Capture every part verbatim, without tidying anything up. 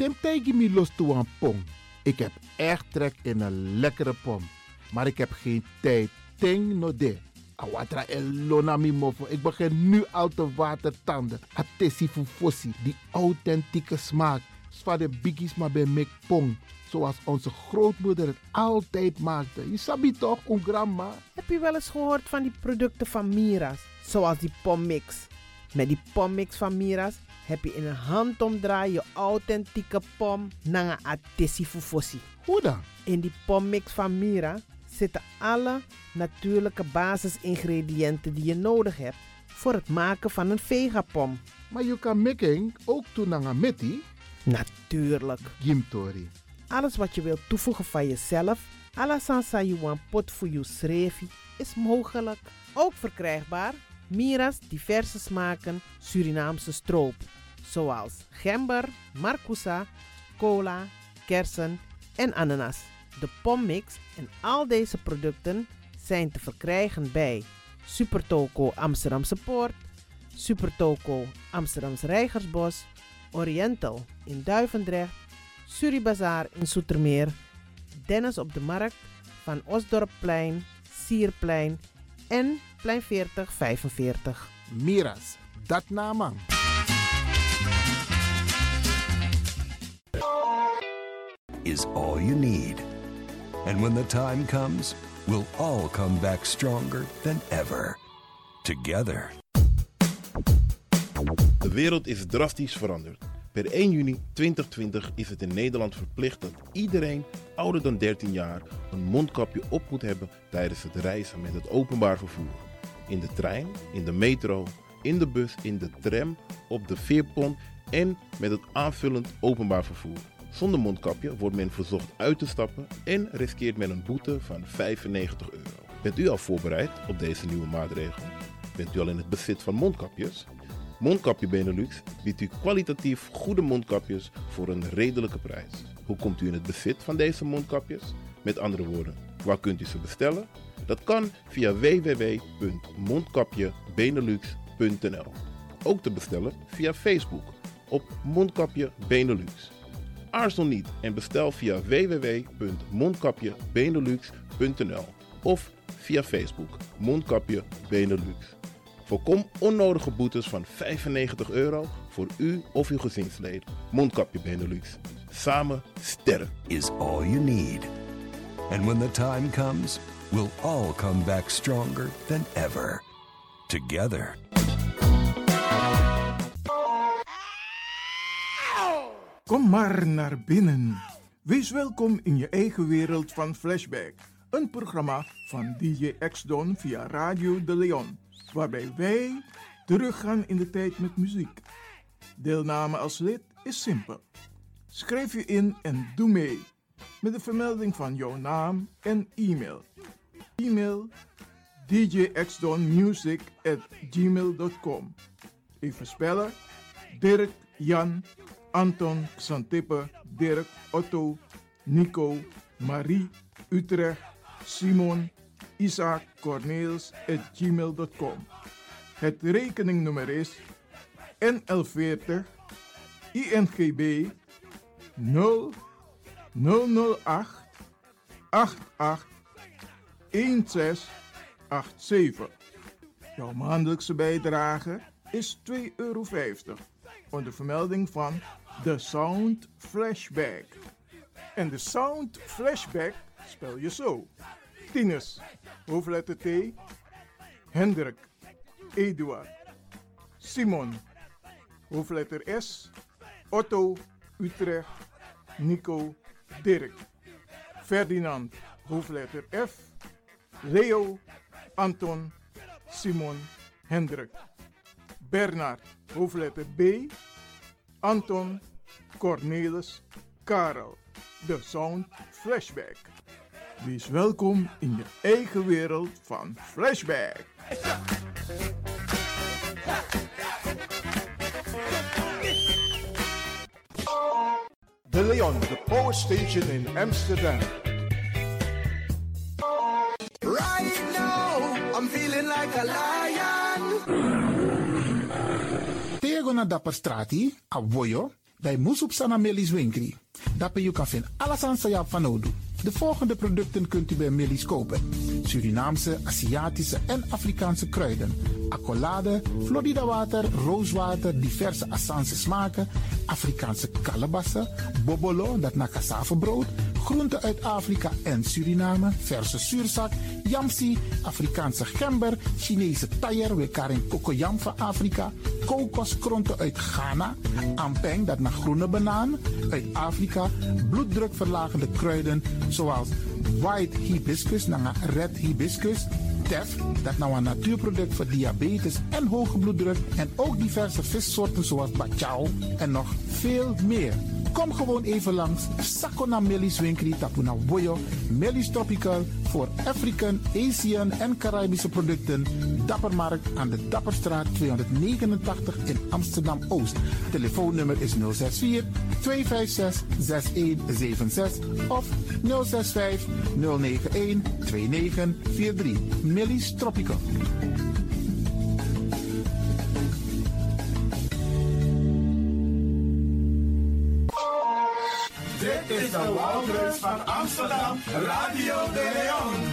Temtegi mi los toe aan pom. Ik heb echt trek in een lekkere pom. Maar ik heb geen tijd. Ting no de. Awatra elona mi mofo. Ik begin nu al te watertanden. Atesi fufosi. Die authentieke smaak. Zwa de biggies maar bij mek pom. Zoals onze grootmoeder het altijd maakte. Je sabi toch, een grandma? Heb je wel eens gehoord van die producten van Mira's? Zoals die pommix. Met die pommix van Mira's heb je in een handomdraai je authentieke pom naar een atesi fufosi. Hoe dan? In die pommix van Mira zitten alle natuurlijke basisingrediënten die je nodig hebt voor het maken van een vegapom. Maar je kan making ook toe naar een meti? Natuurlijk. Gimtori. Alles wat je wilt toevoegen van jezelf, alla sansa you want pot voor je schreefie, is mogelijk. Ook verkrijgbaar Mira's diverse smaken Surinaamse stroop, zoals gember, marcousa, cola, kersen en ananas. De pommix en al deze producten zijn te verkrijgen bij Supertoco Amsterdamse Poort, Supertoco Amsterdamse Reigersbos, Oriental in Duivendrecht, Suribazaar in Zoetermeer, Dennis op de Markt, Van Osdorpplein, Sierplein en Plein veertig vijfenveertig. Mira's, dat naman. Is all you need. And when the time comes, we'll all come back stronger than ever. Together. De wereld is drastisch veranderd. Per één juni tweeduizend twintig is het in Nederland verplicht dat iedereen ouder dan dertien jaar een mondkapje op moet hebben tijdens het reizen met het openbaar vervoer. In de trein, in de metro, in de bus, in de tram, op de veerpont en met het aanvullend openbaar vervoer. Zonder mondkapje wordt men verzocht uit te stappen en riskeert men een boete van vijfennegentig euro. Bent u al voorbereid op deze nieuwe maatregel? Bent u al in het bezit van mondkapjes? Mondkapje Benelux biedt u kwalitatief goede mondkapjes voor een redelijke prijs. Hoe komt u in het bezit van deze mondkapjes? Met andere woorden, waar kunt u ze bestellen? Dat kan via w w w punt mondkapje benelux punt n l. Ook te bestellen via Facebook op Mondkapje Benelux. Aarzel niet en bestel via w w w punt mondkapje benelux punt n l of via Facebook Mondkapje Benelux. Voorkom onnodige boetes van vijfennegentig euro voor u of uw gezinsleden. Mondkapje Benelux. Samen sterk. Is all you need. And when the time comes, we'll all come back stronger than ever. Together. Kom maar naar binnen. Wees welkom in je eigen wereld van Flashback. Een programma van D J X-Don via Radio De Leon. Waarbij wij teruggaan in de tijd met muziek. Deelname als lid is simpel. Schrijf je in en doe mee. Met de vermelding van jouw naam en e-mail. E-mail d j x don music at gmail dot com. Even spellen. Dirk, Jan, Anton, Xantippe, Dirk, Otto, Nico, Marie, Utrecht, Simon, Isaac, Corneels at gmail dot com. Het rekeningnummer is N L veertig I N G B nul nul nul acht acht acht een zes acht zeven. Jouw maandelijkse bijdrage is twee euro vijftig onder vermelding van The Sound Flashback. En de Sound Flashback spel je zo. Tinus, hoofdletter T, Hendrik, Eduard, Simon, hoofdletter S, Otto, Utrecht, Nico, Dirk, Ferdinand, hoofdletter F, Leo, Anton, Simon, Hendrik, Bernard, hoofdletter B, Anton, Cornelis, Karel. De Sound Flashback. Wees welkom in je eigen wereld van Flashback. De Leon, the power station in Amsterdam. Right now, I'm feeling like a lion. Tego na dapper strati, a voyo, bij Moesoep Sana Melis Winkri. Daarbij je kan vinden alles aan Sayap van Odu. De volgende producten kunt u bij Melis kopen: Surinaamse, Aziatische en Afrikaanse kruiden, accolade, Florida water, rooswater, diverse Assange smaken, Afrikaanse kalebassen, bobolo, dat na cassavebrood, groenten uit Afrika en Suriname, verse zuurzak, yamsi, Afrikaanse gember, Chinese taier, we karing kokoyam van Afrika, kokoskronten uit Ghana, ampeng, dat naar groene banaan, uit Afrika, bloeddrukverlagende kruiden zoals white hibiscus, naar red hibiscus, tef, dat nou een natuurproduct voor diabetes en hoge bloeddruk, en ook diverse vissoorten zoals bachao en nog veel meer. Kom gewoon even langs Sakona Melis Winkri Tapuna Boyo, Melis Tropical voor African, Asian en Caribische producten. Dappermarkt aan de Dapperstraat tweehonderdnegenentachtig in Amsterdam-Oost. Telefoonnummer is nul zes vier, twee vijf zes, zes een zeven zes of nul zes vijf, nul negen een, twee negen vier drie. Melis Tropical. Dit is de Wouders van Amsterdam, Radio de Leon.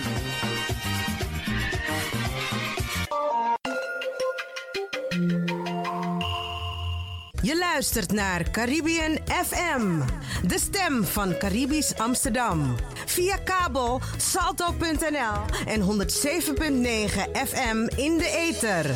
Je luistert naar Caribbean F M, de stem van Caribisch Amsterdam. Via kabel salto punt n l en honderd zeven punt negen F M in de ether.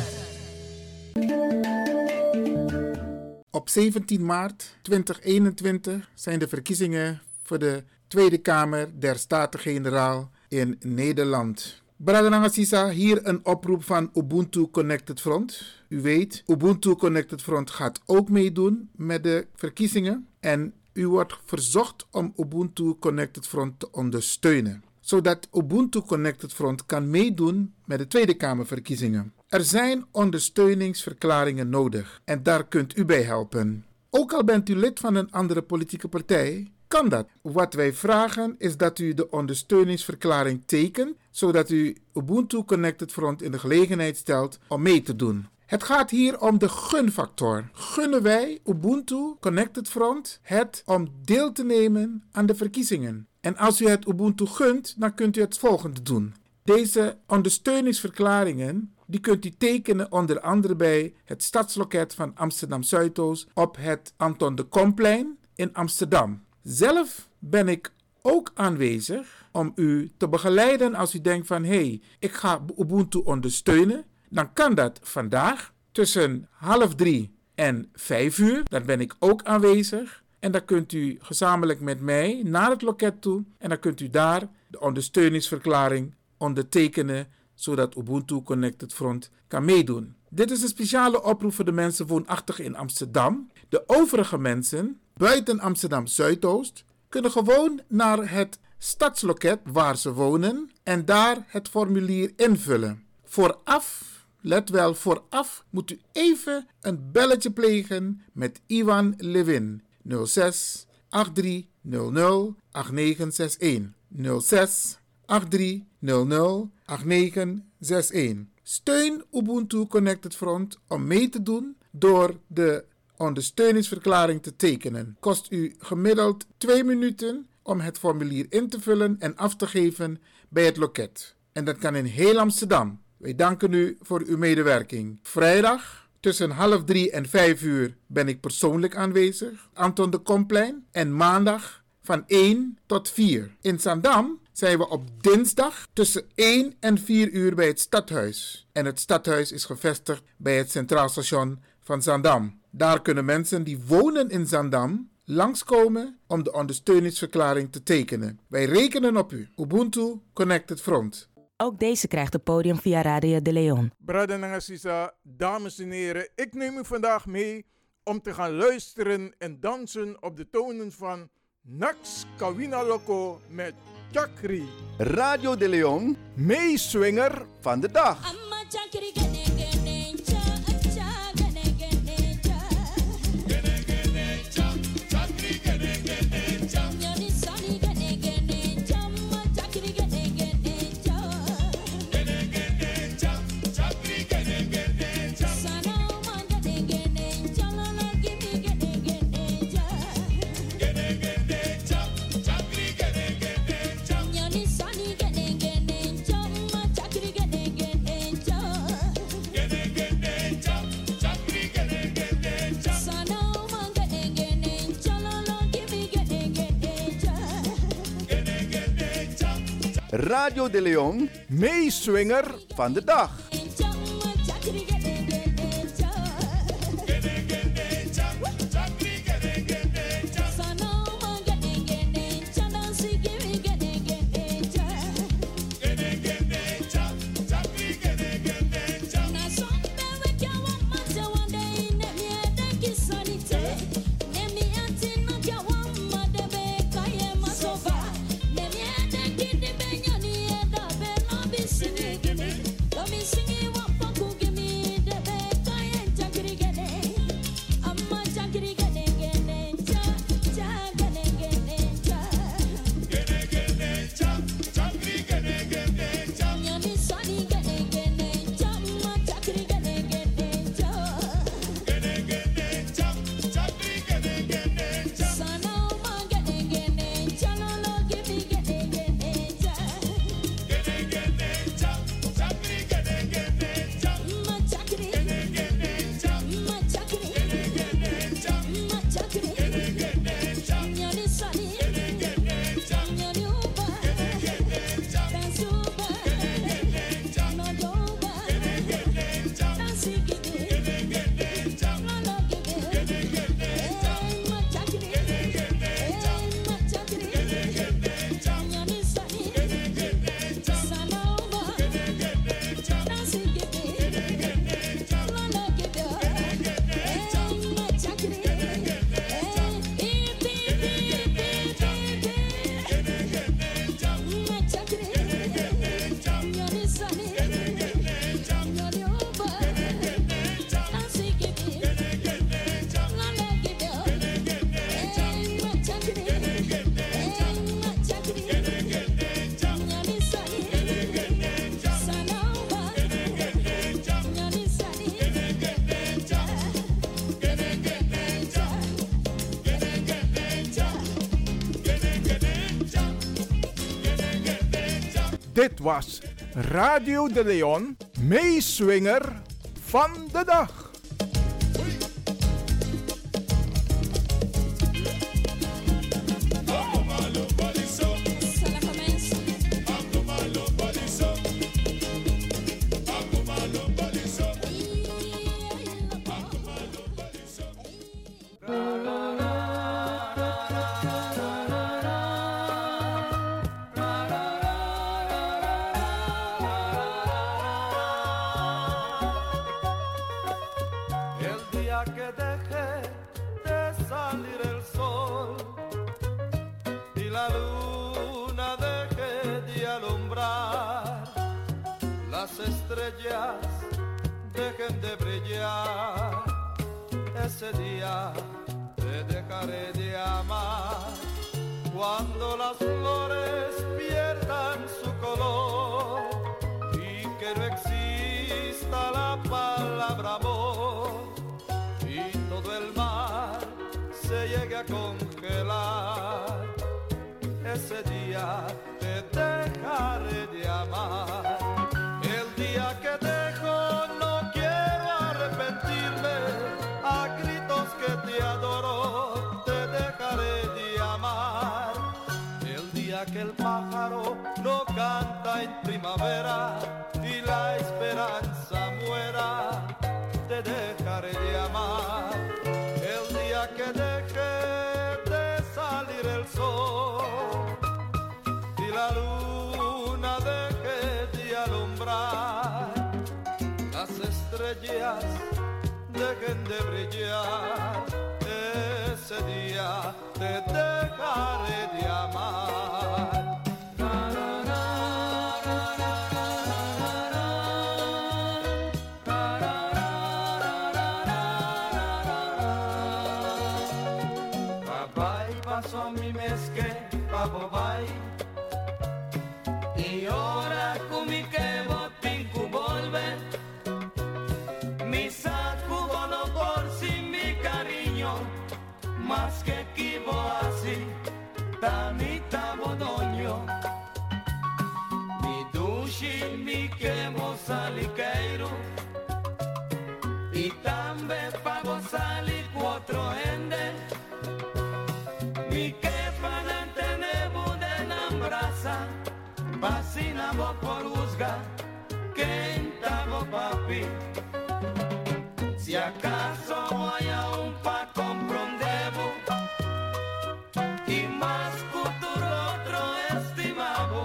Op zeventien maart tweeduizend eenentwintig zijn de verkiezingen voor de Tweede Kamer der Staten-Generaal in Nederland. Bradananga Sisa, hier een oproep van Ubuntu Connected Front. U weet, Ubuntu Connected Front gaat ook meedoen met de verkiezingen. En u wordt verzocht om Ubuntu Connected Front te ondersteunen, zodat Ubuntu Connected Front kan meedoen met de Tweede Kamerverkiezingen. Er zijn ondersteuningsverklaringen nodig en daar kunt u bij helpen. Ook al bent u lid van een andere politieke partij, kan dat. Wat wij vragen is dat u de ondersteuningsverklaring tekent, zodat u Ubuntu Connected Front in de gelegenheid stelt om mee te doen. Het gaat hier om de gunfactor. Gunnen wij Ubuntu Connected Front het om deel te nemen aan de verkiezingen? En als u het Ubuntu gunt, dan kunt u het volgende doen. Deze ondersteuningsverklaringen die kunt u tekenen onder andere bij het Stadsloket van Amsterdam Zuidoost op het Anton de Komplein in Amsterdam. Zelf ben ik ook aanwezig om u te begeleiden als u denkt van hé, hey, ik ga Ubuntu ondersteunen. Dan kan dat vandaag tussen half drie en vijf uur. Dan ben ik ook aanwezig. En dan kunt u gezamenlijk met mij naar het loket toe. En dan kunt u daar de ondersteuningsverklaring ondertekenen, zodat Ubuntu Connected Front kan meedoen. Dit is een speciale oproep voor de mensen woonachtig in Amsterdam. De overige mensen buiten Amsterdam Zuidoost kunnen gewoon naar het stadsloket waar ze wonen en daar het formulier invullen. Vooraf, let wel, vooraf moet u even een belletje plegen met Iwan Levin. nul zes acht drie nul nul acht negen zes een. nul zes acht drie nul nul acht negen zes een. Steun Ubuntu Connected Front om mee te doen door de ondersteuningsverklaring te tekenen. Kost u gemiddeld twee minuten om het formulier in te vullen en af te geven bij het loket. En dat kan in heel Amsterdam. Wij danken u voor uw medewerking. Vrijdag tussen half drie en vijf uur ben ik persoonlijk aanwezig, Anton de Komplein. En maandag van één tot vier. In Zaandam zijn we op dinsdag tussen één en vier uur bij het stadhuis. En het stadhuis is gevestigd bij het Centraal Station van Zaandam. Daar kunnen mensen die wonen in Zaandam langskomen om de ondersteuningsverklaring te tekenen. Wij rekenen op u. Ubuntu Connected Front. Ook deze krijgt het podium via Radio de Leon. Bradananga Sisa, dames en heren, ik neem u vandaag mee om te gaan luisteren en dansen op de tonen van Nax Kawina Loco met Chakri. Radio de Leon, meeswinger van de dag. Radio de Leon, meeswinger van de dag. Dit was Radio de Leon, meeswinger van de dag. Dejen de brillar, ese día te dejaré de amar. Cuando las flores pierdan su color y que no exista la palabra amor y todo el mar se llegue a congelar, ese día te dejaré de amar. El día que dejo no quiero arrepentirme, a gritos que te adoro te dejaré de amar. El día que el pájaro no canta en primavera y la esperanza muera, te dejaré de amar. El día que deje de salir el sol y la luna deje de alumbrar, las estrellas dejen de brillar, ese día te dejaré de amar. Papai pasó mi meske, papo bai, y ora kumi que botin volve. Mi saco no por si mi cariño, más que kibo así, tanita bodoño. Mi dushi mi quemo saliqueiro, y también pago sali cuatro ende. Mi que para tenemos de nambraza, acaso haya un pa comprendemos y más futuro otro estimado,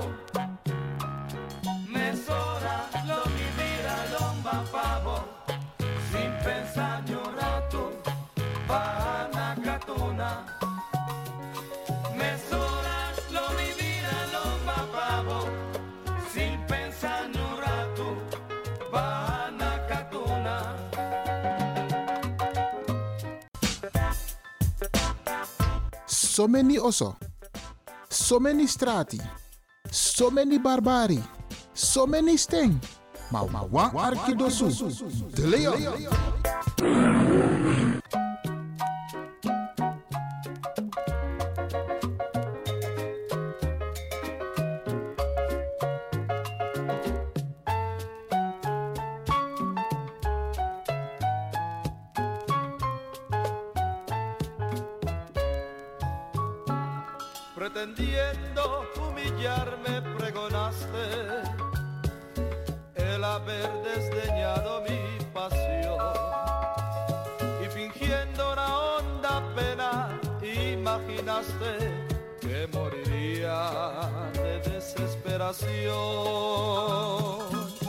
mesora lo vivir a lomba pavo, sin pensar ni un rato, para catuna. Mesora lo vivir a lomba pavo, sin pensar ni un rato, para catuna. So many oso, so many strati, so many barbari, so many sting. Ma ma wa arkidosu, de Leon. Pretendiendo humillarme pregonaste el haber desdeñado mi pasión y fingiendo una honda pena imaginaste que moriría de desesperación.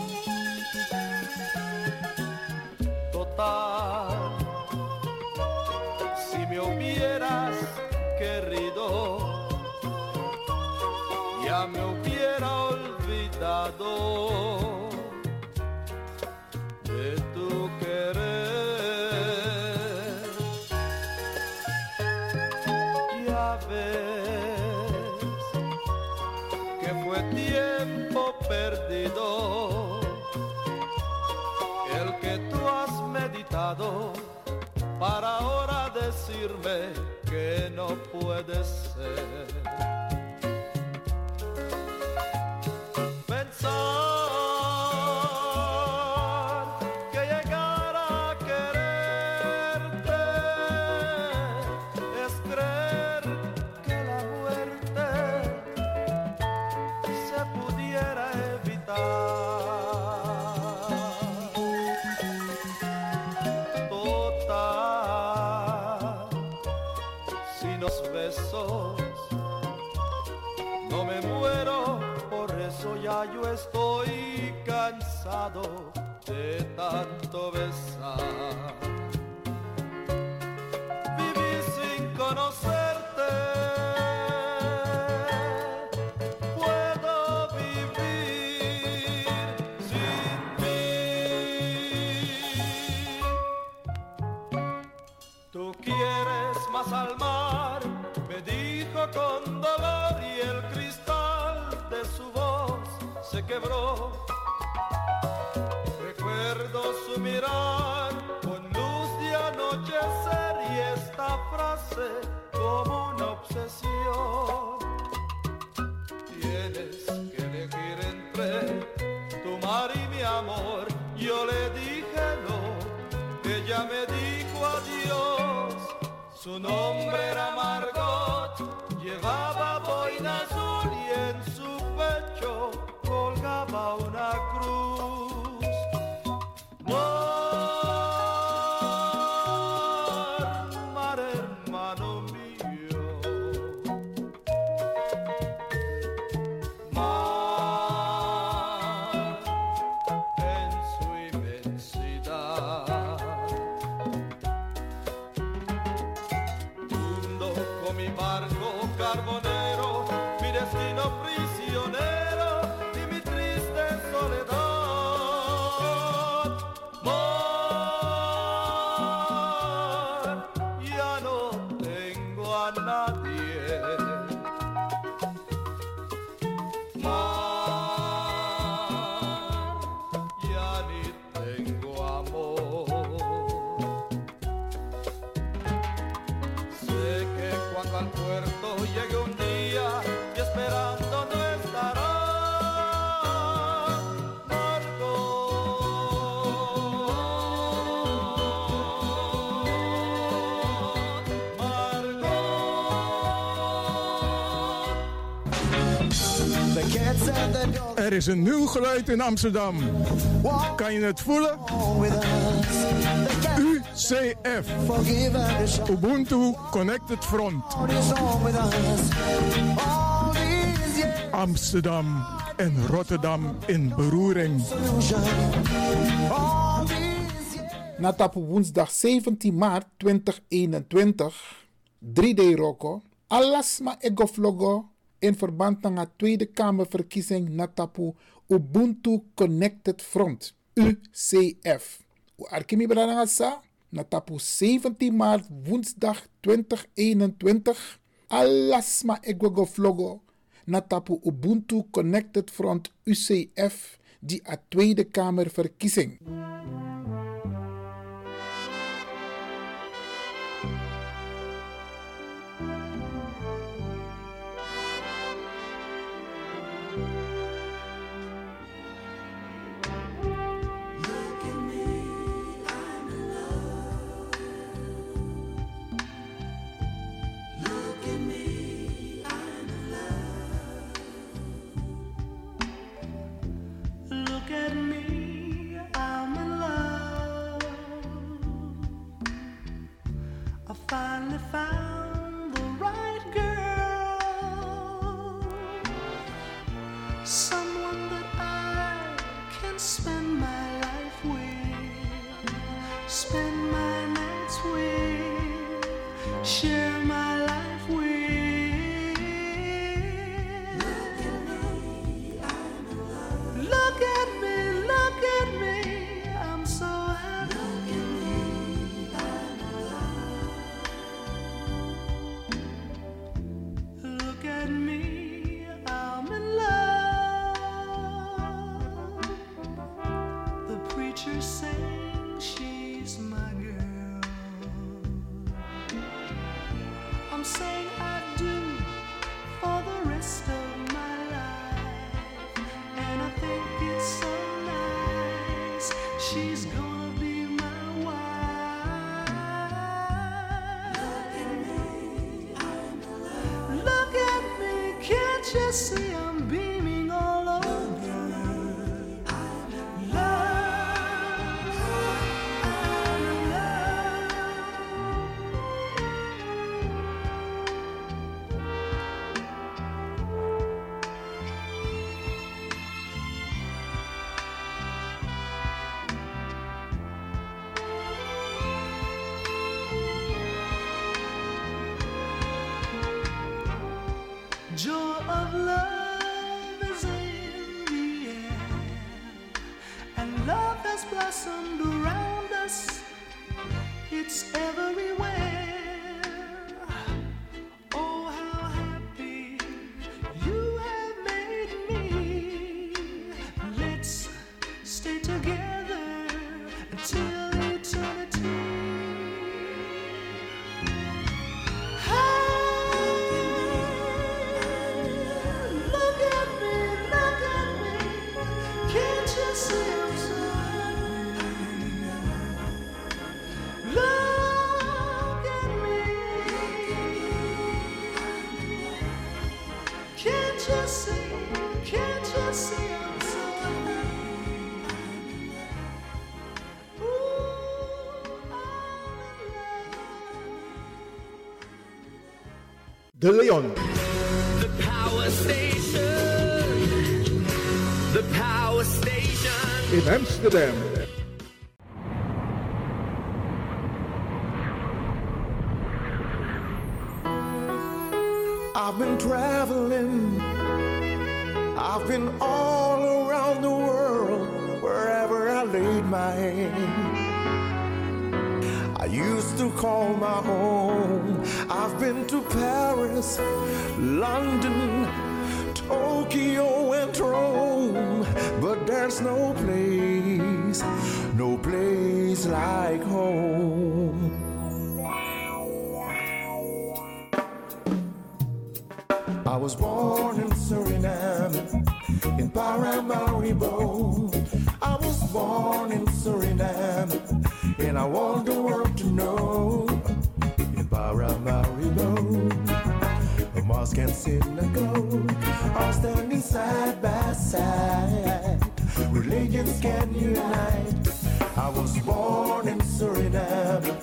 Total, si me hubieras querido ya me hubiera olvidado de tu querer. Ya ves que fue tiempo perdido el que tú has meditado para ahora decirme que no puede ser. Que llegar a quererte es creer que la muerte se pudiera evitar. Total, si los besos no me muero, por eso ya yo estoy cansado de tanto besar. Viví sin conocerte, puedo vivir sin ti. Tú quieres más al mar, me dijo con dolor y el cristal de su voz se quebró. Recuerdo su mirar con luz de anochecer y esta frase como una obsesión. Tienes que elegir entre tu mar y mi amor. Yo le dije no, ella me dijo adiós. Su nombre era Margot, llevaba boina azul y en su pecho colgaba una cruz. Mar, mar hermano mío, mar en su inmensidad. Hundo con mi barco carbonero, mi destino prisionero y mi triste soledad. Mar, ya no tengo a nadie. Mar, ya ni tengo amor. Sé que cuando al puerto llegue un día y esperando no estará Er is een nieuw geluid in Amsterdam. Kan je het voelen? U C F. Ubuntu Connected Front. Amsterdam en Rotterdam in beroering. Na tapu woensdag zeventien maart tweeduizend eenentwintig, drie D Roko, alasma egoflogo in verband met de Tweede Kamerverkiezing na tapu Ubuntu Connected Front, U C F. U arkimi bradangasa, na tapu zeventien maart woensdag tweeduizend eenentwintig, alasma egoflogo na tapu Ubuntu Connected Front U C F, die a Tweede Kamerverkiezing. Finally found the right girl, someone that I can spend my life with, spend my nights with, share my life with. Look at me, I'm in love. Look at me, look at me, I'm so happy. Look at me, I'm in love. Look at me, I'm in love. The preacher saying she's my girl. I'm saying I do for the rest of my life, and I think it's so nice. She's gonna be my wife. Look at me, I'm in love. Look at me, can't you see I'm beaming all over? I'm in love, I'm in love. Joy of love is in the air, and love has blossomed around us. It's everywhere. Oh, how happy you have made me. Let's stay together until eternity. Look at me, look at me, can't you see I'm so happy? Look at me, can't you see, can't you see I'm so happy? De Leon. The power station. The power station. In Amsterdam. I've been traveling, I've been all around the world, wherever I laid my hand. I used to call my home. I've been to Paris, London, Tokyo and Rome, but there's no place, no place like home. I was born in Suriname, in Paramaribo. I was born in Suriname, and I want the world to know. In Paramaribo, a mosque and synagogue are standing side by side. Religions can unite. I was born in Suriname,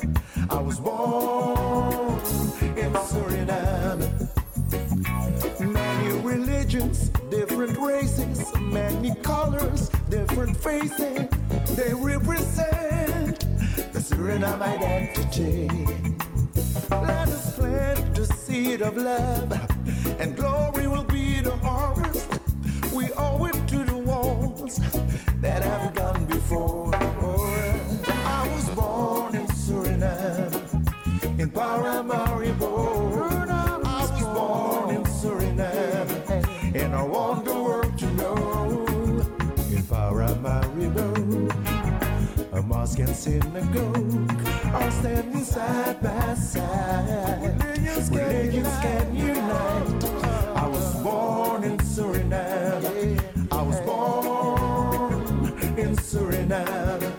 was born in Suriname. Many religions, different races, many colors, different faces. They represent the Suriname identity. Let us plant the seed of love, and glory will be the harvest. We owe it to the ones that have gone before. I was born in Suriname, in Paramaribo. I was born in Suriname, and I want the world to know. In Paramaribo, a mosque and synagogue are standing side by side. Religions can unite. I was born in Suriname. I was born in Suriname.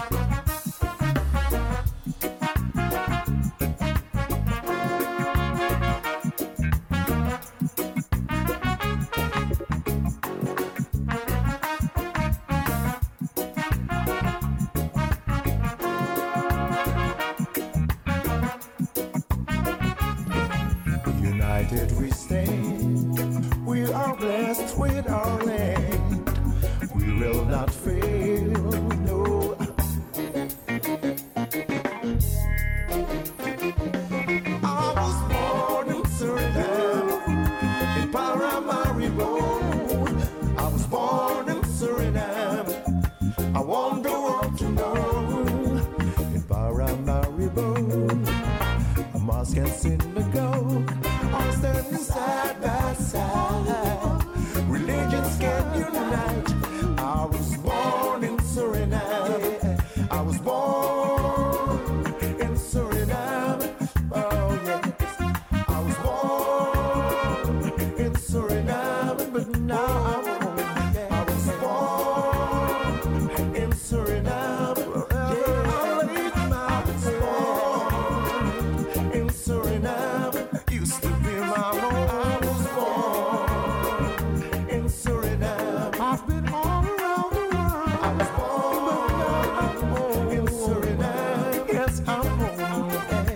United we stand. We are blessed with our land. We will not fail, no. I was born in Suriname, in Paramaribo. I was born in Suriname. I want the world to know. In Paramaribo, a mosque and synagogue are standing side by side. Religions can unite. I was born in Suriname. I was born in Suriname. Oh yes, I was born in Suriname, but now I'm home. I was born in Suriname. Yeah, I was born in Suriname. Used to be my home. I was born in Suriname. I've been all around the world. I was born in Suriname. Yes, I'm home.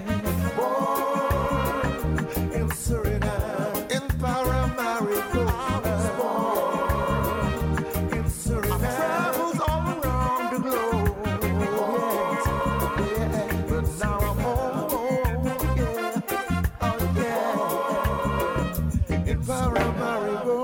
Born in Suriname. In Paramaribo. I was born in Suriname. I traveled all around the globe. Yes, yeah. But now I'm home. Yeah. Oh yeah. In Paramaribo.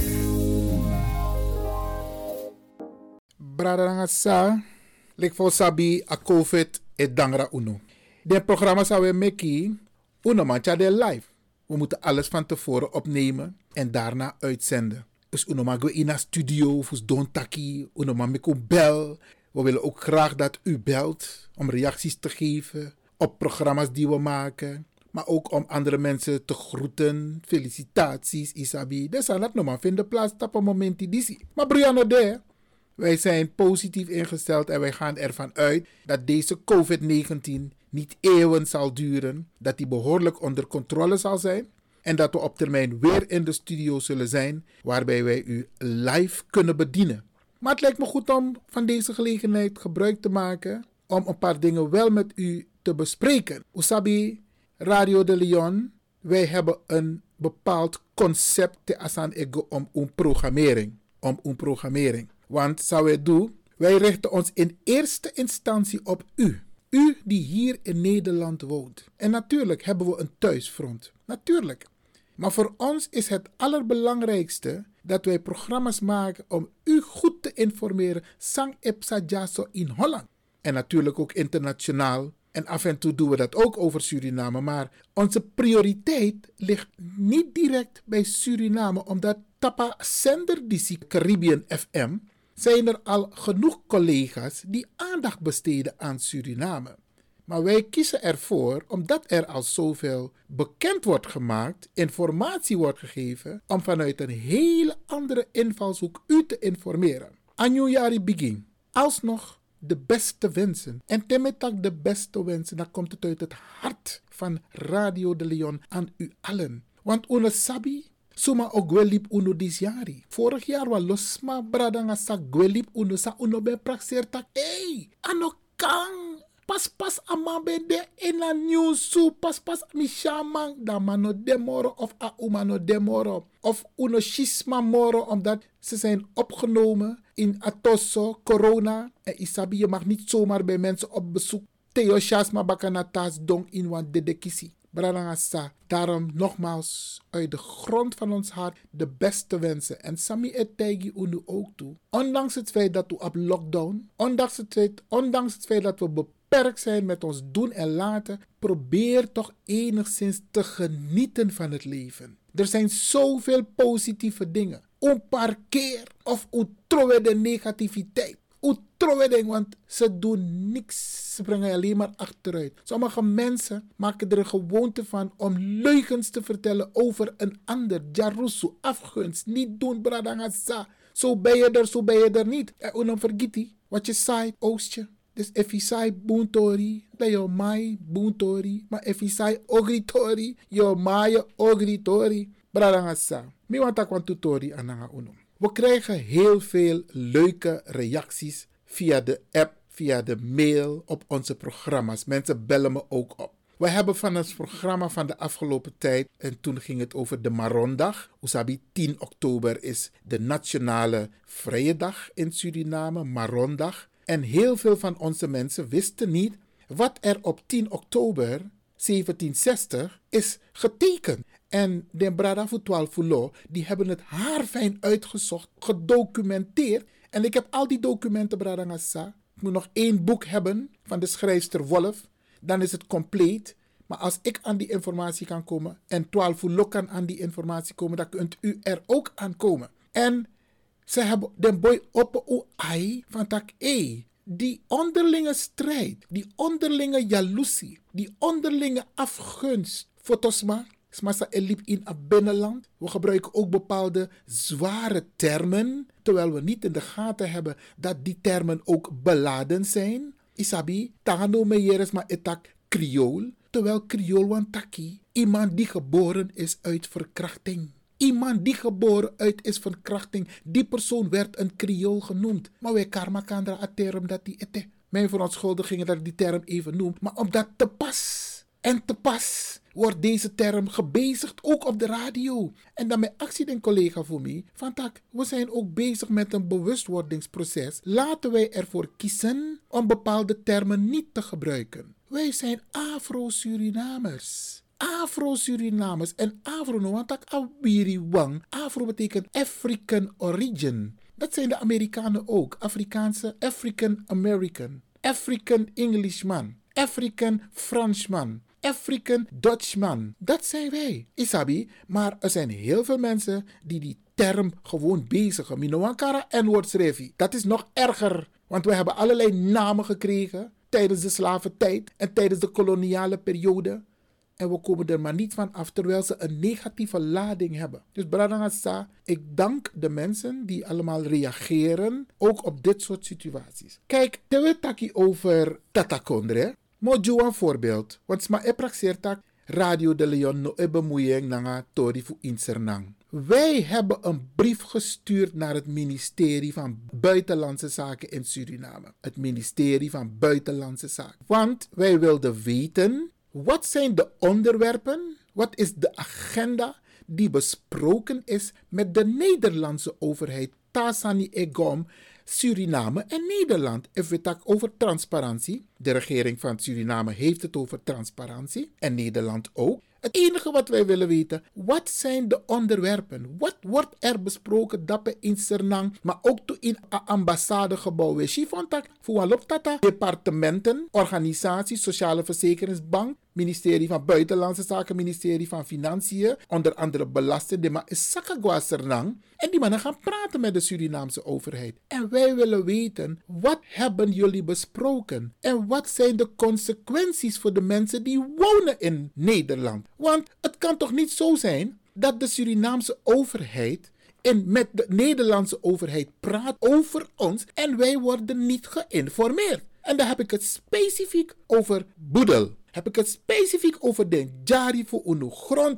Brada sa, lik fo sabi a COVID e dangra uno. De programma zou we meki, uno mancha de live. We moeten alles van tevoren opnemen en daarna uitzenden. Dus uno mag we in een studio, fus don taki, uno mag me bel. We willen ook graag dat u belt om reacties te geven op programma's die we maken. Maar ook om andere mensen te groeten. Felicitaties, Isabi. Dus aan dat nog vinden plaats op een moment die zie. Maar Brianna de, wij zijn positief ingesteld en wij gaan ervan uit dat deze COVID negentien niet eeuwen zal duren. Dat die behoorlijk onder controle zal zijn. En dat we op termijn weer in de studio zullen zijn waarbij wij u live kunnen bedienen. Maar het lijkt me goed om van deze gelegenheid gebruik te maken om een paar dingen wel met u te bespreken. Usabi, Radio de Leon, wij hebben een bepaald concept te asan ego om een programmering. Om een programmering. Want zou wij doen, wij richten ons in eerste instantie op u. U die hier in Nederland woont. En natuurlijk hebben we een thuisfront. Natuurlijk. Maar voor ons is het allerbelangrijkste dat wij programma's maken om u goed te informeren. Sang epsa jaso in Holland. En natuurlijk ook internationaal. En af en toe doen we dat ook over Suriname. Maar onze prioriteit ligt niet direct bij Suriname. Omdat Tapa Zender die Caribbean F M zijn er al genoeg collega's die aandacht besteden aan Suriname. Maar wij kiezen ervoor, omdat er al zoveel bekend wordt gemaakt, informatie wordt gegeven, om vanuit een hele andere invalshoek u te informeren. Anjouari begin. Alsnog de beste wensen. En temetak de beste wensen, dan komt het uit het hart van Radio de Leon aan u allen. Want une sabi, suma o gwelip uno disjari. Vorig jaar was losma bradanga sa gwelip uno sa uno ben praxeer tak. Hey, ano kang pas pas amabe de in a nieuwsu pas pas mi shaman da mano demoro of a umano demoro of uno schisma moro omdat ze zijn opgenomen in atosso corona en isabi je mag niet zomaar bij mensen op bezoek Theo Shasma bakanatas dong in wan dedekisi. Brarangasa, daarom nogmaals uit de grond van ons hart de beste wensen. En Sami etegi unu ook toe. Ondanks het feit dat we op lockdown, ondanks het feit, ondanks het feit dat we beperkt zijn met ons doen en laten, probeer toch enigszins te genieten van het leven. Er zijn zoveel positieve dingen. Onparkeer of utrowe de negativiteit. Utrowe, want ze doen niks. Ze brengen alleen maar achteruit. Sommige mensen maken er een gewoonte van om leugens te vertellen over een ander. Jarusu, afgunst, niet doen, bradangasa. Zo ben je er, zo ben je er niet. En dan vergeet je wat je zei, oostje. Dus if je zei boontori, dan je mai boontori. Maar if je zei ogritori, je mai ogritori. Bradangasa. Mi want ik want tutori ananga uno. We krijgen heel veel leuke reacties via de app, via de mail op onze programma's. Mensen bellen me ook op. We hebben van het programma van de afgelopen tijd, en toen ging het over de Marondag. Usabi, tien oktober is de nationale vrije dag in Suriname, Marondag. En heel veel van onze mensen wisten niet wat er op tien oktober zeventienhonderdzestig is getekend. En de Brada voor twaalf Fulo, die hebben het haarfijn uitgezocht, gedocumenteerd. En ik heb al die documenten, Brada Ngassa. Ik moet nog één boek hebben van de schrijfster Wolf. Dan is het compleet. Maar als ik aan die informatie kan komen en twaalf Fulo kan aan die informatie komen, dan kunt u er ook aan komen. En ze hebben de boy op o ai van tak e. Die onderlinge strijd, die onderlinge jaloezie, die onderlinge afgunst. Fotosma. Smasa elip in het binnenland. We gebruiken ook bepaalde zware termen, terwijl we niet in de gaten hebben dat die termen ook beladen zijn. Isabi, tano meyeres ma etak Creool, terwijl Creool wantaki, iemand die geboren is uit verkrachting. Iemand die geboren uit is verkrachting, die persoon werd een Creool genoemd. Maar wij karma kandra a term dat die ete. Mijn verontschuldigingen dat ik die term even noem, maar omdat te pas en te pas wordt deze term gebezigd, ook op de radio. En dan mijn actie den collega voor mij, van tak, we zijn ook bezig met een bewustwordingsproces. Laten wij ervoor kiezen om bepaalde termen niet te gebruiken. Wij zijn Afro-Surinamers. Afro-Surinamers. En Afro, no, want tak awiri wang. Afro betekent African origin. Dat zijn de Amerikanen ook. Afrikaanse, African American. African Englishman. African Franschman. African Dutchman. Dat zijn wij. Isabi, maar er zijn heel veel mensen die die term gewoon bezigen. Minoankara en woordschrijfie. Dat is nog erger. Want we hebben allerlei namen gekregen tijdens de slaventijd en tijdens de koloniale periode. En we komen er maar niet van af, terwijl ze een negatieve lading hebben. Dus Bradangasa, ik dank de mensen die allemaal reageren, ook op dit soort situaties. Kijk, we taki over Tatakondre. Mojo een voorbeeld. Want sma e praxeertak Radio de Leon no e bemoeiing nanga tori fu insernang. Wij hebben een brief gestuurd naar het ministerie van Buitenlandse Zaken in Suriname. Het ministerie van Buitenlandse Zaken. Want wij wilden weten, wat zijn de onderwerpen, wat is de agenda die besproken is met de Nederlandse overheid. Tasani Egom, Suriname en Nederland. If we het over transparantie. De regering van Suriname heeft het over transparantie. En Nederland ook. Het enige wat wij willen weten, wat zijn de onderwerpen? Wat wordt er besproken dat in Sernang, maar ook in het ambassadegebouw? We chifontak voor tata departementen, organisaties, Sociale Verzekeringsbank, ministerie van Buitenlandse Zaken, ministerie van Financiën, onder andere belasting, maar is Sakagwa Sernang. En die mannen gaan praten met de Surinaamse overheid. En wij willen weten, wat hebben jullie besproken? En wat zijn de consequenties voor de mensen die wonen in Nederland? Want het kan toch niet zo zijn dat de Surinaamse overheid en met de Nederlandse overheid praat over ons en wij worden niet geïnformeerd. En dan heb ik het specifiek over boedel. Heb ik het specifiek over de jari voor uw grondhuur.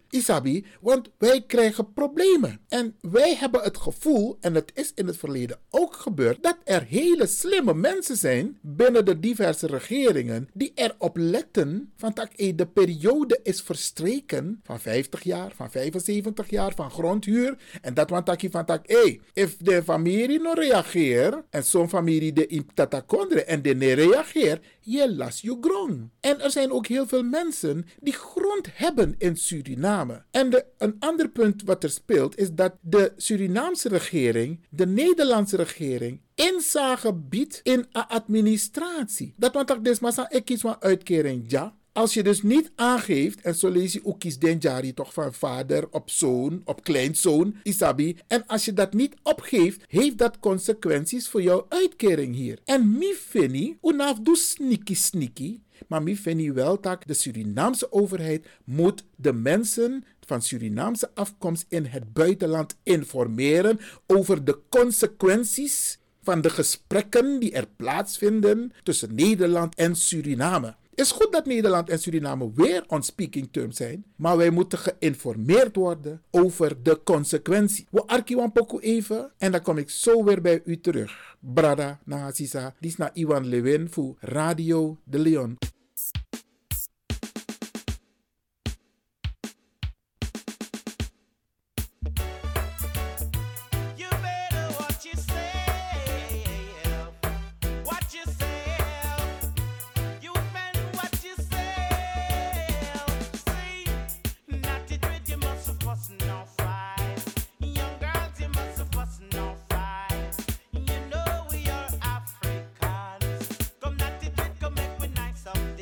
Isabi, want wij krijgen problemen. En wij hebben het gevoel, en het is in het verleden ook gebeurd, dat er hele slimme mensen zijn binnen de diverse regeringen die erop letten van dat de periode is verstreken van vijftig jaar, van vijfenzeventig jaar, van grondhuur. En dat want dat je van dat, hé, if de familie no reageert, en zo'n familie de in tatakondre en de ne reageert, je las je grond. En er zijn ook heel veel mensen die grond hebben in Suriname. En de, een ander punt wat er speelt is dat de Surinaamse regering, de Nederlandse regering, inzage biedt in een administratie. Dat want dat is maar ik kies van uitkering, ja. Als je dus niet aangeeft, en zo lees je ook kies den jari toch van vader op zoon, op kleinzoon, isabi. En als je dat niet opgeeft, heeft dat consequenties voor jouw uitkering hier. En mi fini, unaf doe sneaky sneaky, maar mi fini wel dat de Surinaamse overheid moet de mensen van Surinaamse afkomst in het buitenland informeren over de consequenties van de gesprekken die er plaatsvinden tussen Nederland en Suriname. Het is goed dat Nederland en Suriname weer on speaking terms zijn, maar wij moeten geïnformeerd worden over de consequenties. We arkiwan poku even en dan kom ik zo weer bij u terug. Brada, Nagasisa, dit is na Iwan Lewin voor Radio de Leon. Come not to come make we nice up.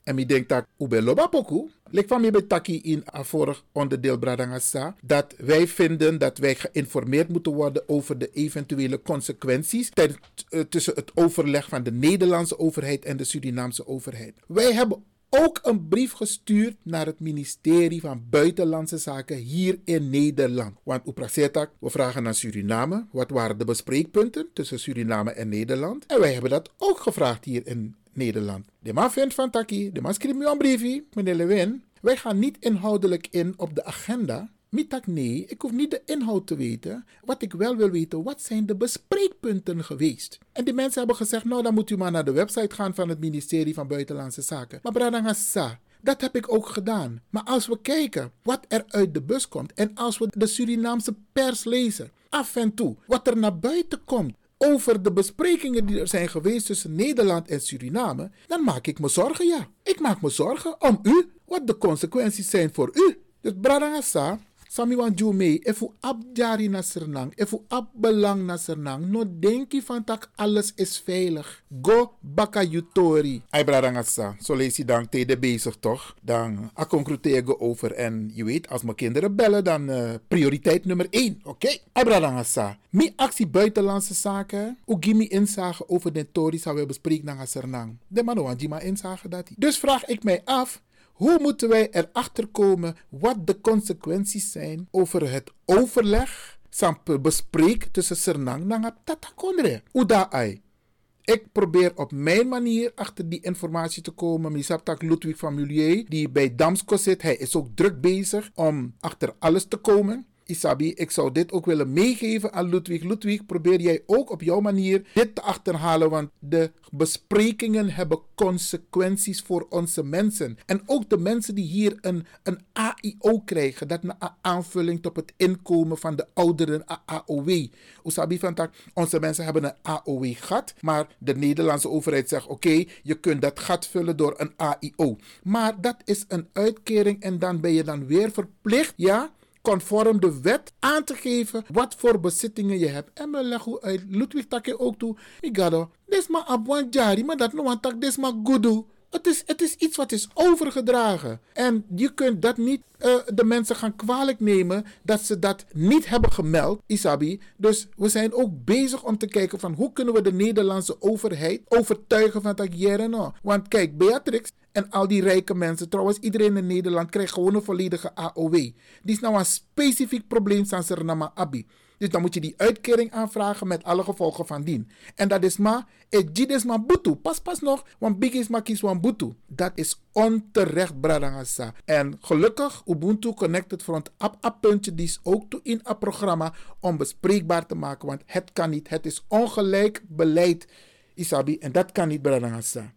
En mi denk dat ube loba poku. Lek van mi betaki in een vorig onderdeel Bradangasa. Dat wij vinden dat wij geïnformeerd moeten worden over de eventuele consequenties ten, uh, tussen het overleg van de Nederlandse overheid en de Surinaamse overheid. Wij hebben ook een brief gestuurd naar het ministerie van Buitenlandse Zaken hier in Nederland. Want Uprasetak, we vragen naar Suriname. Wat waren de bespreekpunten tussen Suriname en Nederland? En wij hebben dat ook gevraagd hier in Nederland. De man vindt van Taki, de man schrijft me een briefje, meneer Lewin. Wij gaan niet inhoudelijk in op de agenda. Mitak nee, ik hoef niet de inhoud te weten. Wat ik wel wil weten, wat zijn de bespreekpunten geweest? En die mensen hebben gezegd, nou dan moet u maar naar de website gaan van het ministerie van Buitenlandse Zaken. Maar Bradangasa, dat heb ik ook gedaan. Maar als we kijken wat er uit de bus komt en als we de Surinaamse pers lezen, af en toe, wat er naar buiten komt over de besprekingen die er zijn geweest tussen Nederland en Suriname, dan maak ik me zorgen, ja. Ik maak me zorgen om u, wat de consequenties zijn voor u. Dus Bradangasa, Sami wan ju mee, efu abjari na Sernang, efu abbelang na Sernang, no denki van tak alles is veilig. Go baka yutori. Ay Bradangasa, zo lees je dan tegen bezig toch? Dan concluderen over en je weet, als mijn kinderen bellen, dan uh, prioriteit nummer één, oké? Okay? Ay Bradangasa, mi actie buitenlandse zaken, u gimi inzage over de tori zou we bespreken naar Sernang. De man wan jima inzage dat. Dus vraag ik mij af, hoe moeten wij erachter komen wat de consequenties zijn over het overleg, sample bespreek tussen Sernang en Tatakondre? Uda ai. Ik probeer op mijn manier achter die informatie te komen. Misaptak Ludwig van Mulier, die bij Damsko zit, hij is ook druk bezig om achter alles te komen. Isabi, ik zou dit ook willen meegeven aan Ludwig. Ludwig, probeer jij ook op jouw manier dit te achterhalen, want de besprekingen hebben consequenties voor onze mensen. En ook de mensen die hier een, een A I O krijgen, dat is een aanvulling op het inkomen van de ouderen, A O W. Isabi, van tak, onze mensen hebben een A O W gat, maar de Nederlandse overheid zegt, oké, okay, je kunt dat gat vullen door een A I O. Maar dat is een uitkering en dan ben je dan weer verplicht, ja, conform de wet aan te geven wat voor bezittingen je hebt. En me leggen uit Ludwig Takke ook toe. Migado, dit is maar abwan jari, maar dat no tak, dit is maar gudu. Het is, het is iets wat is overgedragen. En je kunt dat niet uh, de mensen gaan kwalijk nemen dat ze dat niet hebben gemeld, Isabi. Dus we zijn ook bezig om te kijken van hoe kunnen we de Nederlandse overheid overtuigen van dat jaren no. Want kijk, Beatrix en al die rijke mensen, trouwens iedereen in Nederland krijgt gewoon een volledige A O W. Die is nou een specifiek probleem van Suriname Abi. Dus dan moet je die uitkering aanvragen met alle gevolgen van dien. En dat is maar, het is maar butu. Pas pas nog, want big is maar kies wan butu. Dat is onterecht, Bradangasa. En gelukkig, Ubuntu Connected Front app app puntje, die is ook toe in het programma om bespreekbaar te maken. Want het kan niet. Het is ongelijk beleid, Isabi. En dat kan niet, Bradangasa.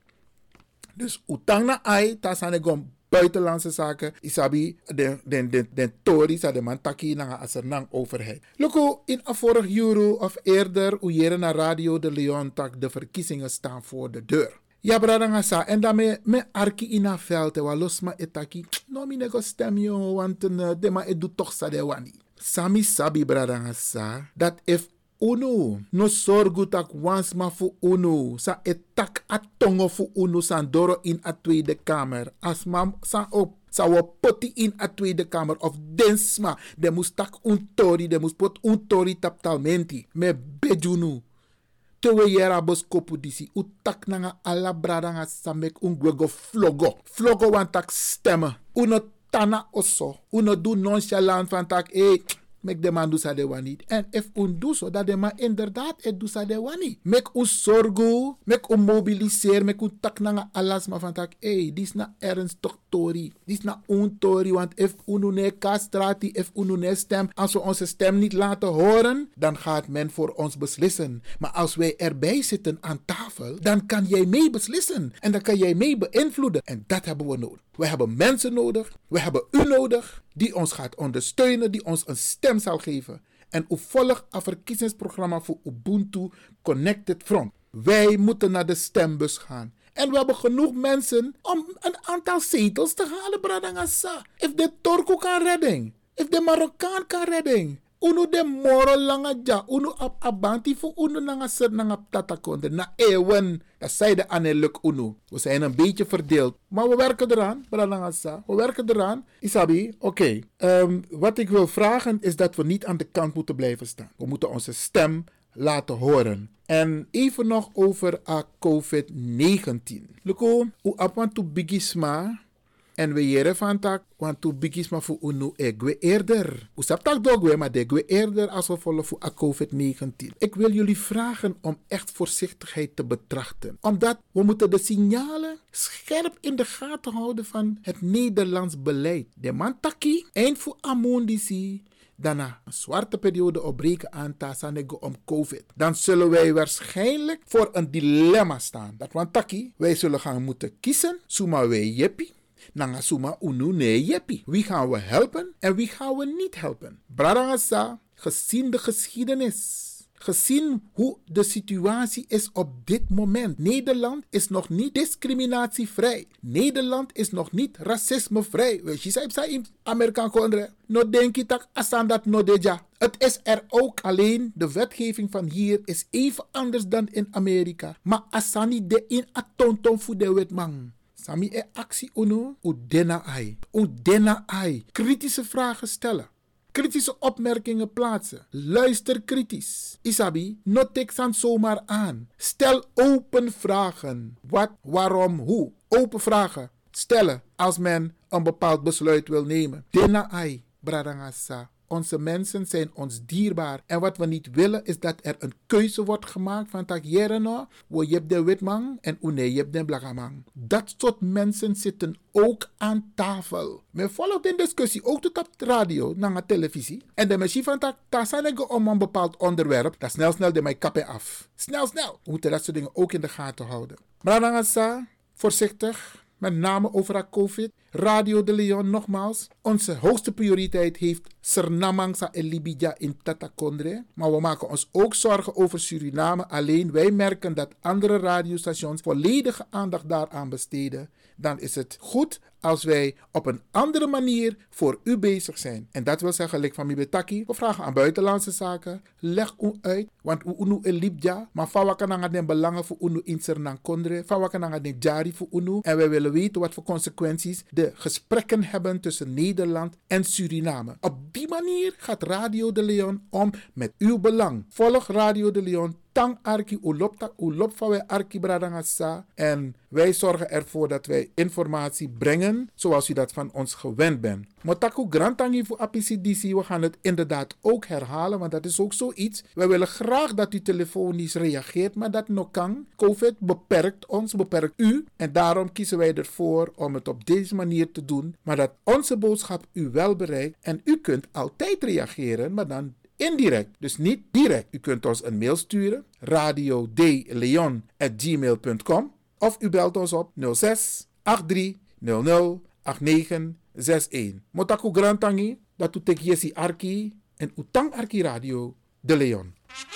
Dus utang na ai, tasanegom buitenlandse zaken, isabi, de, de, de, de Tories, de man taki na asernang overheid. Loko, in a vorig euro of eerder, u naar Radio de Leon tak, de verkiezingen staan voor de deur. Ja, bradangasa, en daarmee me arki in a veld, wa losma etaki, no mi nego stem yo, want uh, de ma edu toch sa de wani. Sami sabi bradangasa, dat if uno no sorgu tak wans ma fu uno sa etak atongo fu uno san doro in a Tweede Kamer as mam sa op sa wo poti in a Tweede Kamer of densma de mus tak un tori de mus pot un tori taptalmenti me bejunu tewe yera bos kopu disi utak nanga ala bradanga samek un gwego flogo flogo wan tak stemmen uno tana oso uno do nonchalant van tak eh mek de man doe de wani. En if un doe zo, dat de man inderdaad het doe de wani. Mek un zorgo, mek un mobiliseer, mek un tak nanga alas ma van tak, hey, dis na ernstig tori. Dis na un tori, want if unu ne kastrati, if unu ne stem, als we onze stem niet laten horen, dan gaat men voor ons beslissen. Maar als wij erbij zitten aan tafel, dan kan jij mee beslissen. En dan kan jij mee beïnvloeden. En dat hebben we nodig. We hebben mensen nodig, we hebben u nodig, die ons gaat ondersteunen, die ons een stem zal geven. En u volgt een verkiezingsprogramma voor Ubuntu Connected Front. Wij moeten naar de stembus gaan. En we hebben genoeg mensen om een aantal zetels te halen, Bradangasa. If de Turko kan redden, if de Marokkaan kan redden, Uno de moro langa ja. Uno ap abanti fu uno nanga set nanga tatakonde. Na ewen. Dat zei de aneluk uno. We zijn een beetje verdeeld. Maar we werken eraan. Bralangasa. We werken eraan. Isabi, oké. Okay. Um, wat ik wil vragen is dat we niet aan de kant moeten blijven staan. We moeten onze stem laten horen. En even nog over a covid negentien. Luko, u apwan tu bigisma. En we jere van tak, want tu bigisma fu unu egwe eerder. U sap tak dogwe, maar degwe eerder als we volgen voor a covid negentien. Ik wil jullie vragen om echt voorzichtigheid te betrachten. Omdat we moeten de signalen scherp in de gaten houden van het Nederlands beleid. De man taki, eind voor amondisi. Daarna een zwarte periode opbreken aan Tasanego om COVID. Dan zullen wij waarschijnlijk voor een dilemma staan. Dat want taki, wij zullen gaan moeten kiezen. Suma wij jeppie. Nanga suma unu nee jeppie. Wie gaan we helpen en wie gaan we niet helpen? Bradangasa, gezien de geschiedenis. Gezien hoe de situatie is op dit moment. Nederland is nog niet discriminatievrij. Nederland is nog niet racismevrij. Weet je, zei in Amerikaan kondre. No denk je dat asan dat no deja. Het is er ook, alleen de wetgeving van hier is even anders dan in Amerika. Maar asani de in atonton fu de wetman. Sami e actie uno, u dena ai. U dena ai. Kritische vragen stellen. Kritische opmerkingen plaatsen. Luister kritisch. Isabi, not take san zomaar aan. Stel open vragen. Wat, waarom, hoe. Open vragen stellen als men een bepaald besluit wil nemen. Dena ai, bradangasa. Onze mensen zijn ons dierbaar. En wat we niet willen is dat er een keuze wordt gemaakt van tak jere no, wo je hebt de witman en une je hebt de blagamang. Dat soort mensen zitten ook aan tafel. Men volgt de discussie ook tot op de radio, naar de televisie. En de machine van tak, daar zijn ik om een bepaald onderwerp, dat snel snel de mij kappen af. Snel snel. We moeten dat soort dingen ook in de gaten houden. Maar dan gaan voorzichtig. Met name over haar COVID. Radio de Leon nogmaals. Onze hoogste prioriteit heeft Sernamangsa en Libidja in Tatakondre. Maar we maken ons ook zorgen over Suriname. Alleen wij merken dat andere radiostations volledige aandacht daaraan besteden. Dan is het goed als wij op een andere manier voor u bezig zijn. En dat wil zeggen, like van Mibetaki, we vragen aan buitenlandse zaken. Leg u uit, want u unu en Libja, maar van wat kan den belangen voor unu in Sernamkondre, van wat kan den jari voor unu. En wij willen weten wat voor consequenties de gesprekken hebben tussen Nederland en Suriname. Op die manier gaat Radio de Leon om met uw belang. Volg Radio de Leon. Tang arki ulopta ulop van wij arki bradangasa. En wij zorgen ervoor dat wij informatie brengen zoals u dat van ons gewend bent. Motaku grantangi voor A P C D C. We gaan het inderdaad ook herhalen, want dat is ook zoiets. Wij willen graag dat u telefonisch reageert, maar dat nog kan. COVID beperkt ons, beperkt u. En daarom kiezen wij ervoor om het op deze manier te doen. Maar dat onze boodschap u wel bereikt. En u kunt altijd reageren, maar dan indirect, dus niet direct. U kunt ons een mail sturen, radio d leon at gmail punt com, of u belt ons op nul zes acht drie nul nul acht negen zes een. Motaku grantangi, dat u tek yesi arki en utang arki Radio de Leon.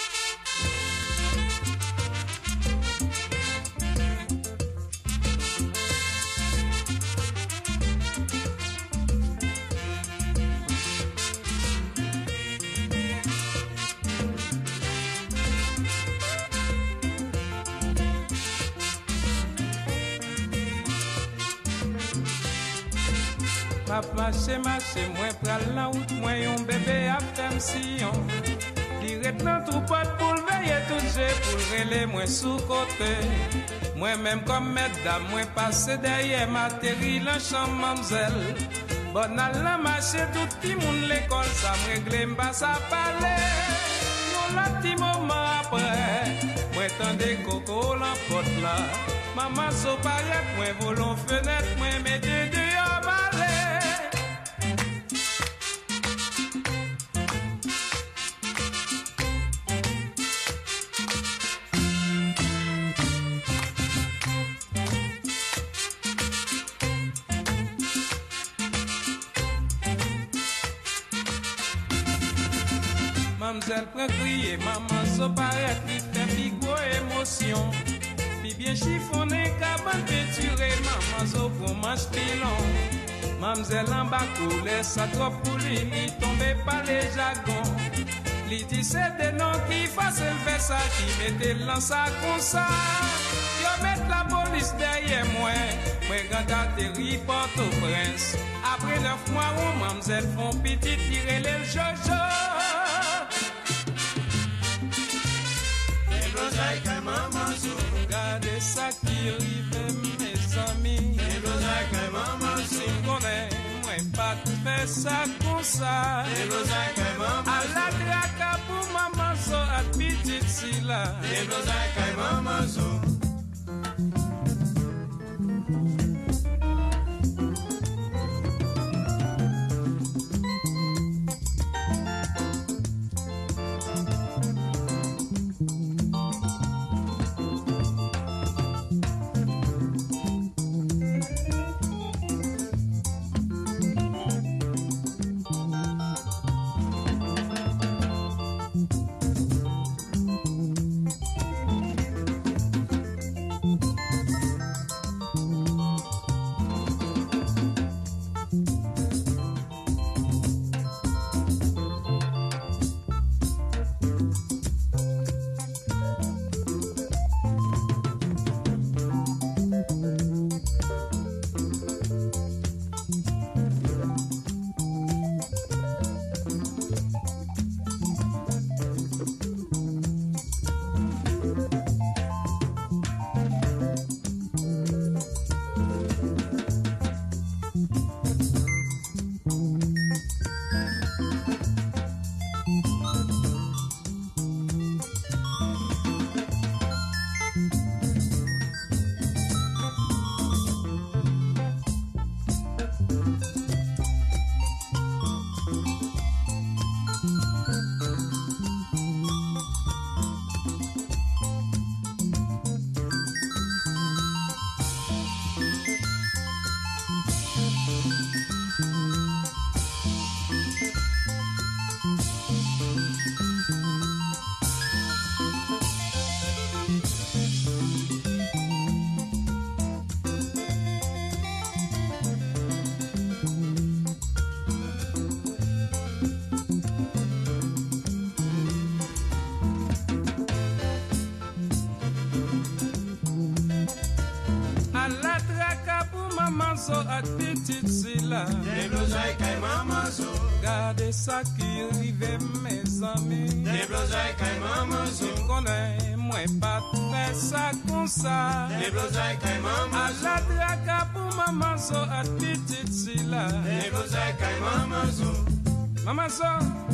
Papa chez marché, moi pral la route, moi yon bébé a femme sillon. Direct dans tout pot pour veiller tout jeu, pour relais moi sous côté. Moi même comme mesdames, moi passé derrière matériel en chambre mamzelle. Bon à la marché, tout petit monde l'école, ça me réglé m'pas ça parler. Non la petit moment après, moi tendez coco l'emporte là. Maman so paillette, moi volons fenêtre, moi mets deux dehors balai. Mamzelle prend crier, maman so paraît qui fait pigo émotion. Puis bien chiffonné, cabane peinturée, maman so pour manche pilon. Mamzelle en bas coulait, sa trop pour lui, tombé par les jagons. Li ti se de non qui facile fait ça, qui mette l'an ça comme ça. Yo mette la police derrière moi, moi quand atterri Port-au-Prince. Après neuf mois, où mamzelle font petit tirer les jojo. Les blosailles que maman sou. Regardez ça qui arrive mes amis. Les blosailles que maman sou. Si m'connais, moi pas faire ça comme ça. Les blosailles que maman sou. À la traque pour maman so à petite si là. Les blosailles que maman sou. So at petite si là. Les blosailles que maman sou. Gardez ça qui arrive mes amis. Les blosailles que maman sou. Si m'connais, moi pas faire ça comme ça. Les blosailles que maman sou. À la traque pour maman so at petite si là. Les blosailles que maman sou. Maman so.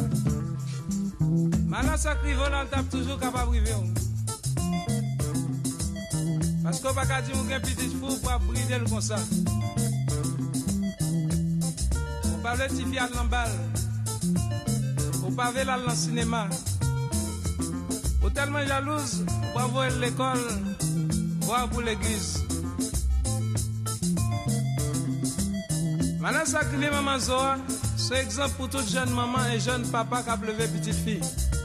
Maman sacré volant tape toujours capable de vivre. Parce qu'on va pas dire qu'un petit fou pour brider le comme ça. On parle de Tifi à l'embal. On parle de la cinéma. On tellement jalouse pour voir l'école, voir pour l'église. Maintenant, ça crée maman Zoa, c'est exemple pour toute jeune maman et jeune papa qui a levé petite fille.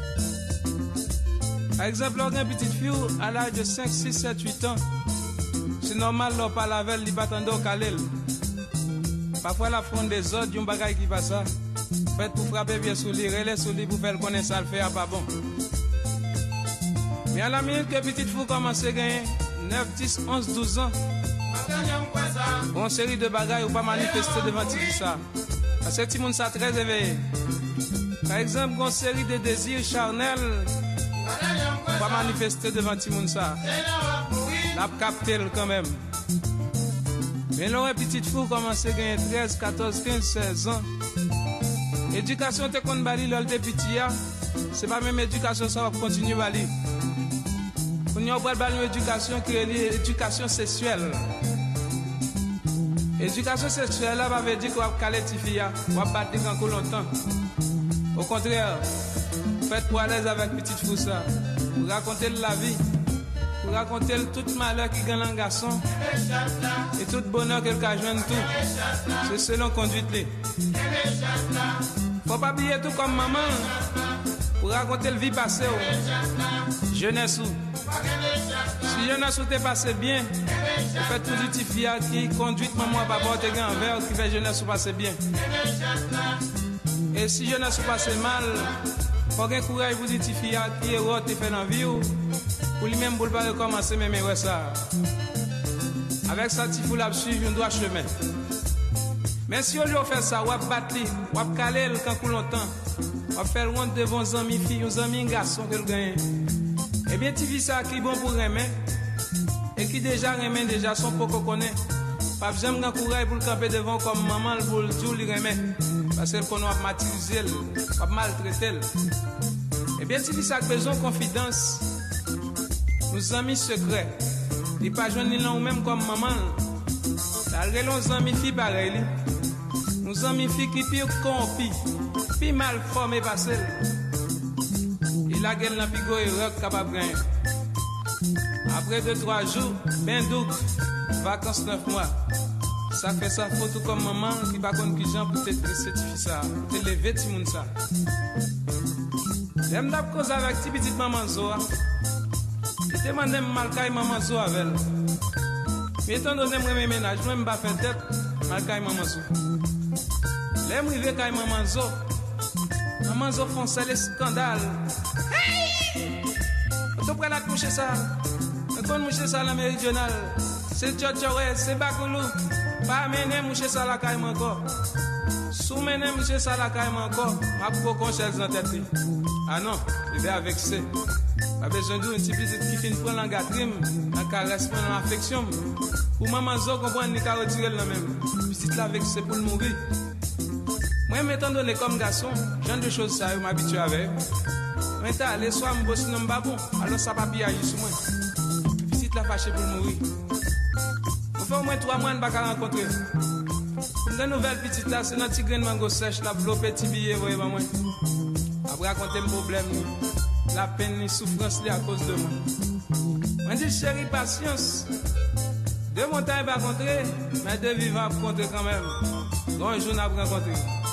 Par exemple, on a une petite fille à l'âge de cinq, six, sept, huit ans. C'est normal, on parle avec elle, il va attendre au calel. Parfois, la fond des autres, il y a un bagage qui passe ça. Faites pour frapper bien sur lui, relais sur lui pour faire connaître ça, le faire pas bon. Mais à la minute que petite fille commence à gagner neuf, dix, onze, douze ans, une série de bagages ou pas manifester devant tout ça. Parce que tout le monde est très éveillé. Par exemple, une série de désirs charnels pas manifester devant tout le monde ça. La capté quand même. Mais là, une petite fille commence à gagner treize, quatorze, quinze, seize ans. Éducation te qu'on bali lol de petit ya, c'est pas même éducation ça va continuer bali. On y a pas bali éducation qui est l'éducation sexuelle. Éducation sexuelle là va veut dire qu'on va caler ti fille, on va battre encore longtemps. Au contraire, faites pour à l'aise avec petite fille ça. Pour raconter la vie, pour raconter tout malheur qui gagne un garçon et tout bonheur qu'elle a joint tout. C'est selon conduite là. Faut pas oublier tout comme maman pour raconter le vie passée. Jeunesse ou. Si jeunesse ou t'es passé bien, vous faites tout du petit fille qui conduit maman à papa te gagne envers qui fait jeunesse ou passer bien. Et si jeunesse ou passer mal, faut gen courage pour dire ti fille qui est rote et fait dans vie pour lui même pour pas recommencer même ouais ça. Avec ça ti fou la suivre un droit chemin. Mais si on lui fait ça, on va battre, on va caler le quand longtemps. On va faire honte devant les amis filles, les amis garçons que le gagne. Eh bien ti fille ça qui bon pour remettre et qui déjà remet déjà son poco connaît. Pas besoin de courage pour le camper devant comme maman pour le tout lui remet. Parce qu'on va martyriser, va maltraiter. Eh bien, si ça a besoin de confidence, nos amis secrets, ils ne pas joindre ni l'un ou même comme maman. Malgré nos amis filles pareilles, nos amis filles qui pire corrompus, puis mal formés parce il a gagné la pigo et rock capable de gagner. Après deux trois jours, ben doux, vacances neuf mois. Ça fait ça photo comme maman qui va contre qui gens pour te certifier ça, pour te lever tout le monde ça. J'aime d'ab cause avec ti petite maman Zoa. Je demande mal kay maman Zoa avec elle. Mais étant donné moi mes ménage, moi me pas faire tête mal kay maman Zoa. L'aime river kay maman Zoa. Maman Zoa font ça les scandales. Hey! On prend la coucher ça. On connaît moucher ça la méridionale. C'est Tchotchoré, c'est Bakoulou. Pas mener moucher ça la caille encore. Sous mener moucher ça la caille encore. Ma pour qu'on cherche dans tête. Ah non, il vais avec ça. Pas besoin d'une petite petite qui finit prendre l'engatrime, la caresse, l'affection. Pour maman Zo comprendre ni qu'à retirer le même. Petite la avec c'est pour le mourir. Moi m'étant donné comme garçon, genre de choses ça, je m'habitue avec. Maintenant, les soirs, je bosse dans babon, alors ça va bien agir sur moi. Petite la fâchée pour mourir. On fait au moins trois mois de ne pas rencontrer. Une nouvelle petite là, c'est notre grain de mango sèche, la blow petit billet, voyez moi. Après raconter mes problèmes, la peine, la souffrance à cause de moi. On dit chérie, patience. Deux montagnes pas rencontrer, mais deux vivants à rencontrer quand même. Donc un jour on a rencontré.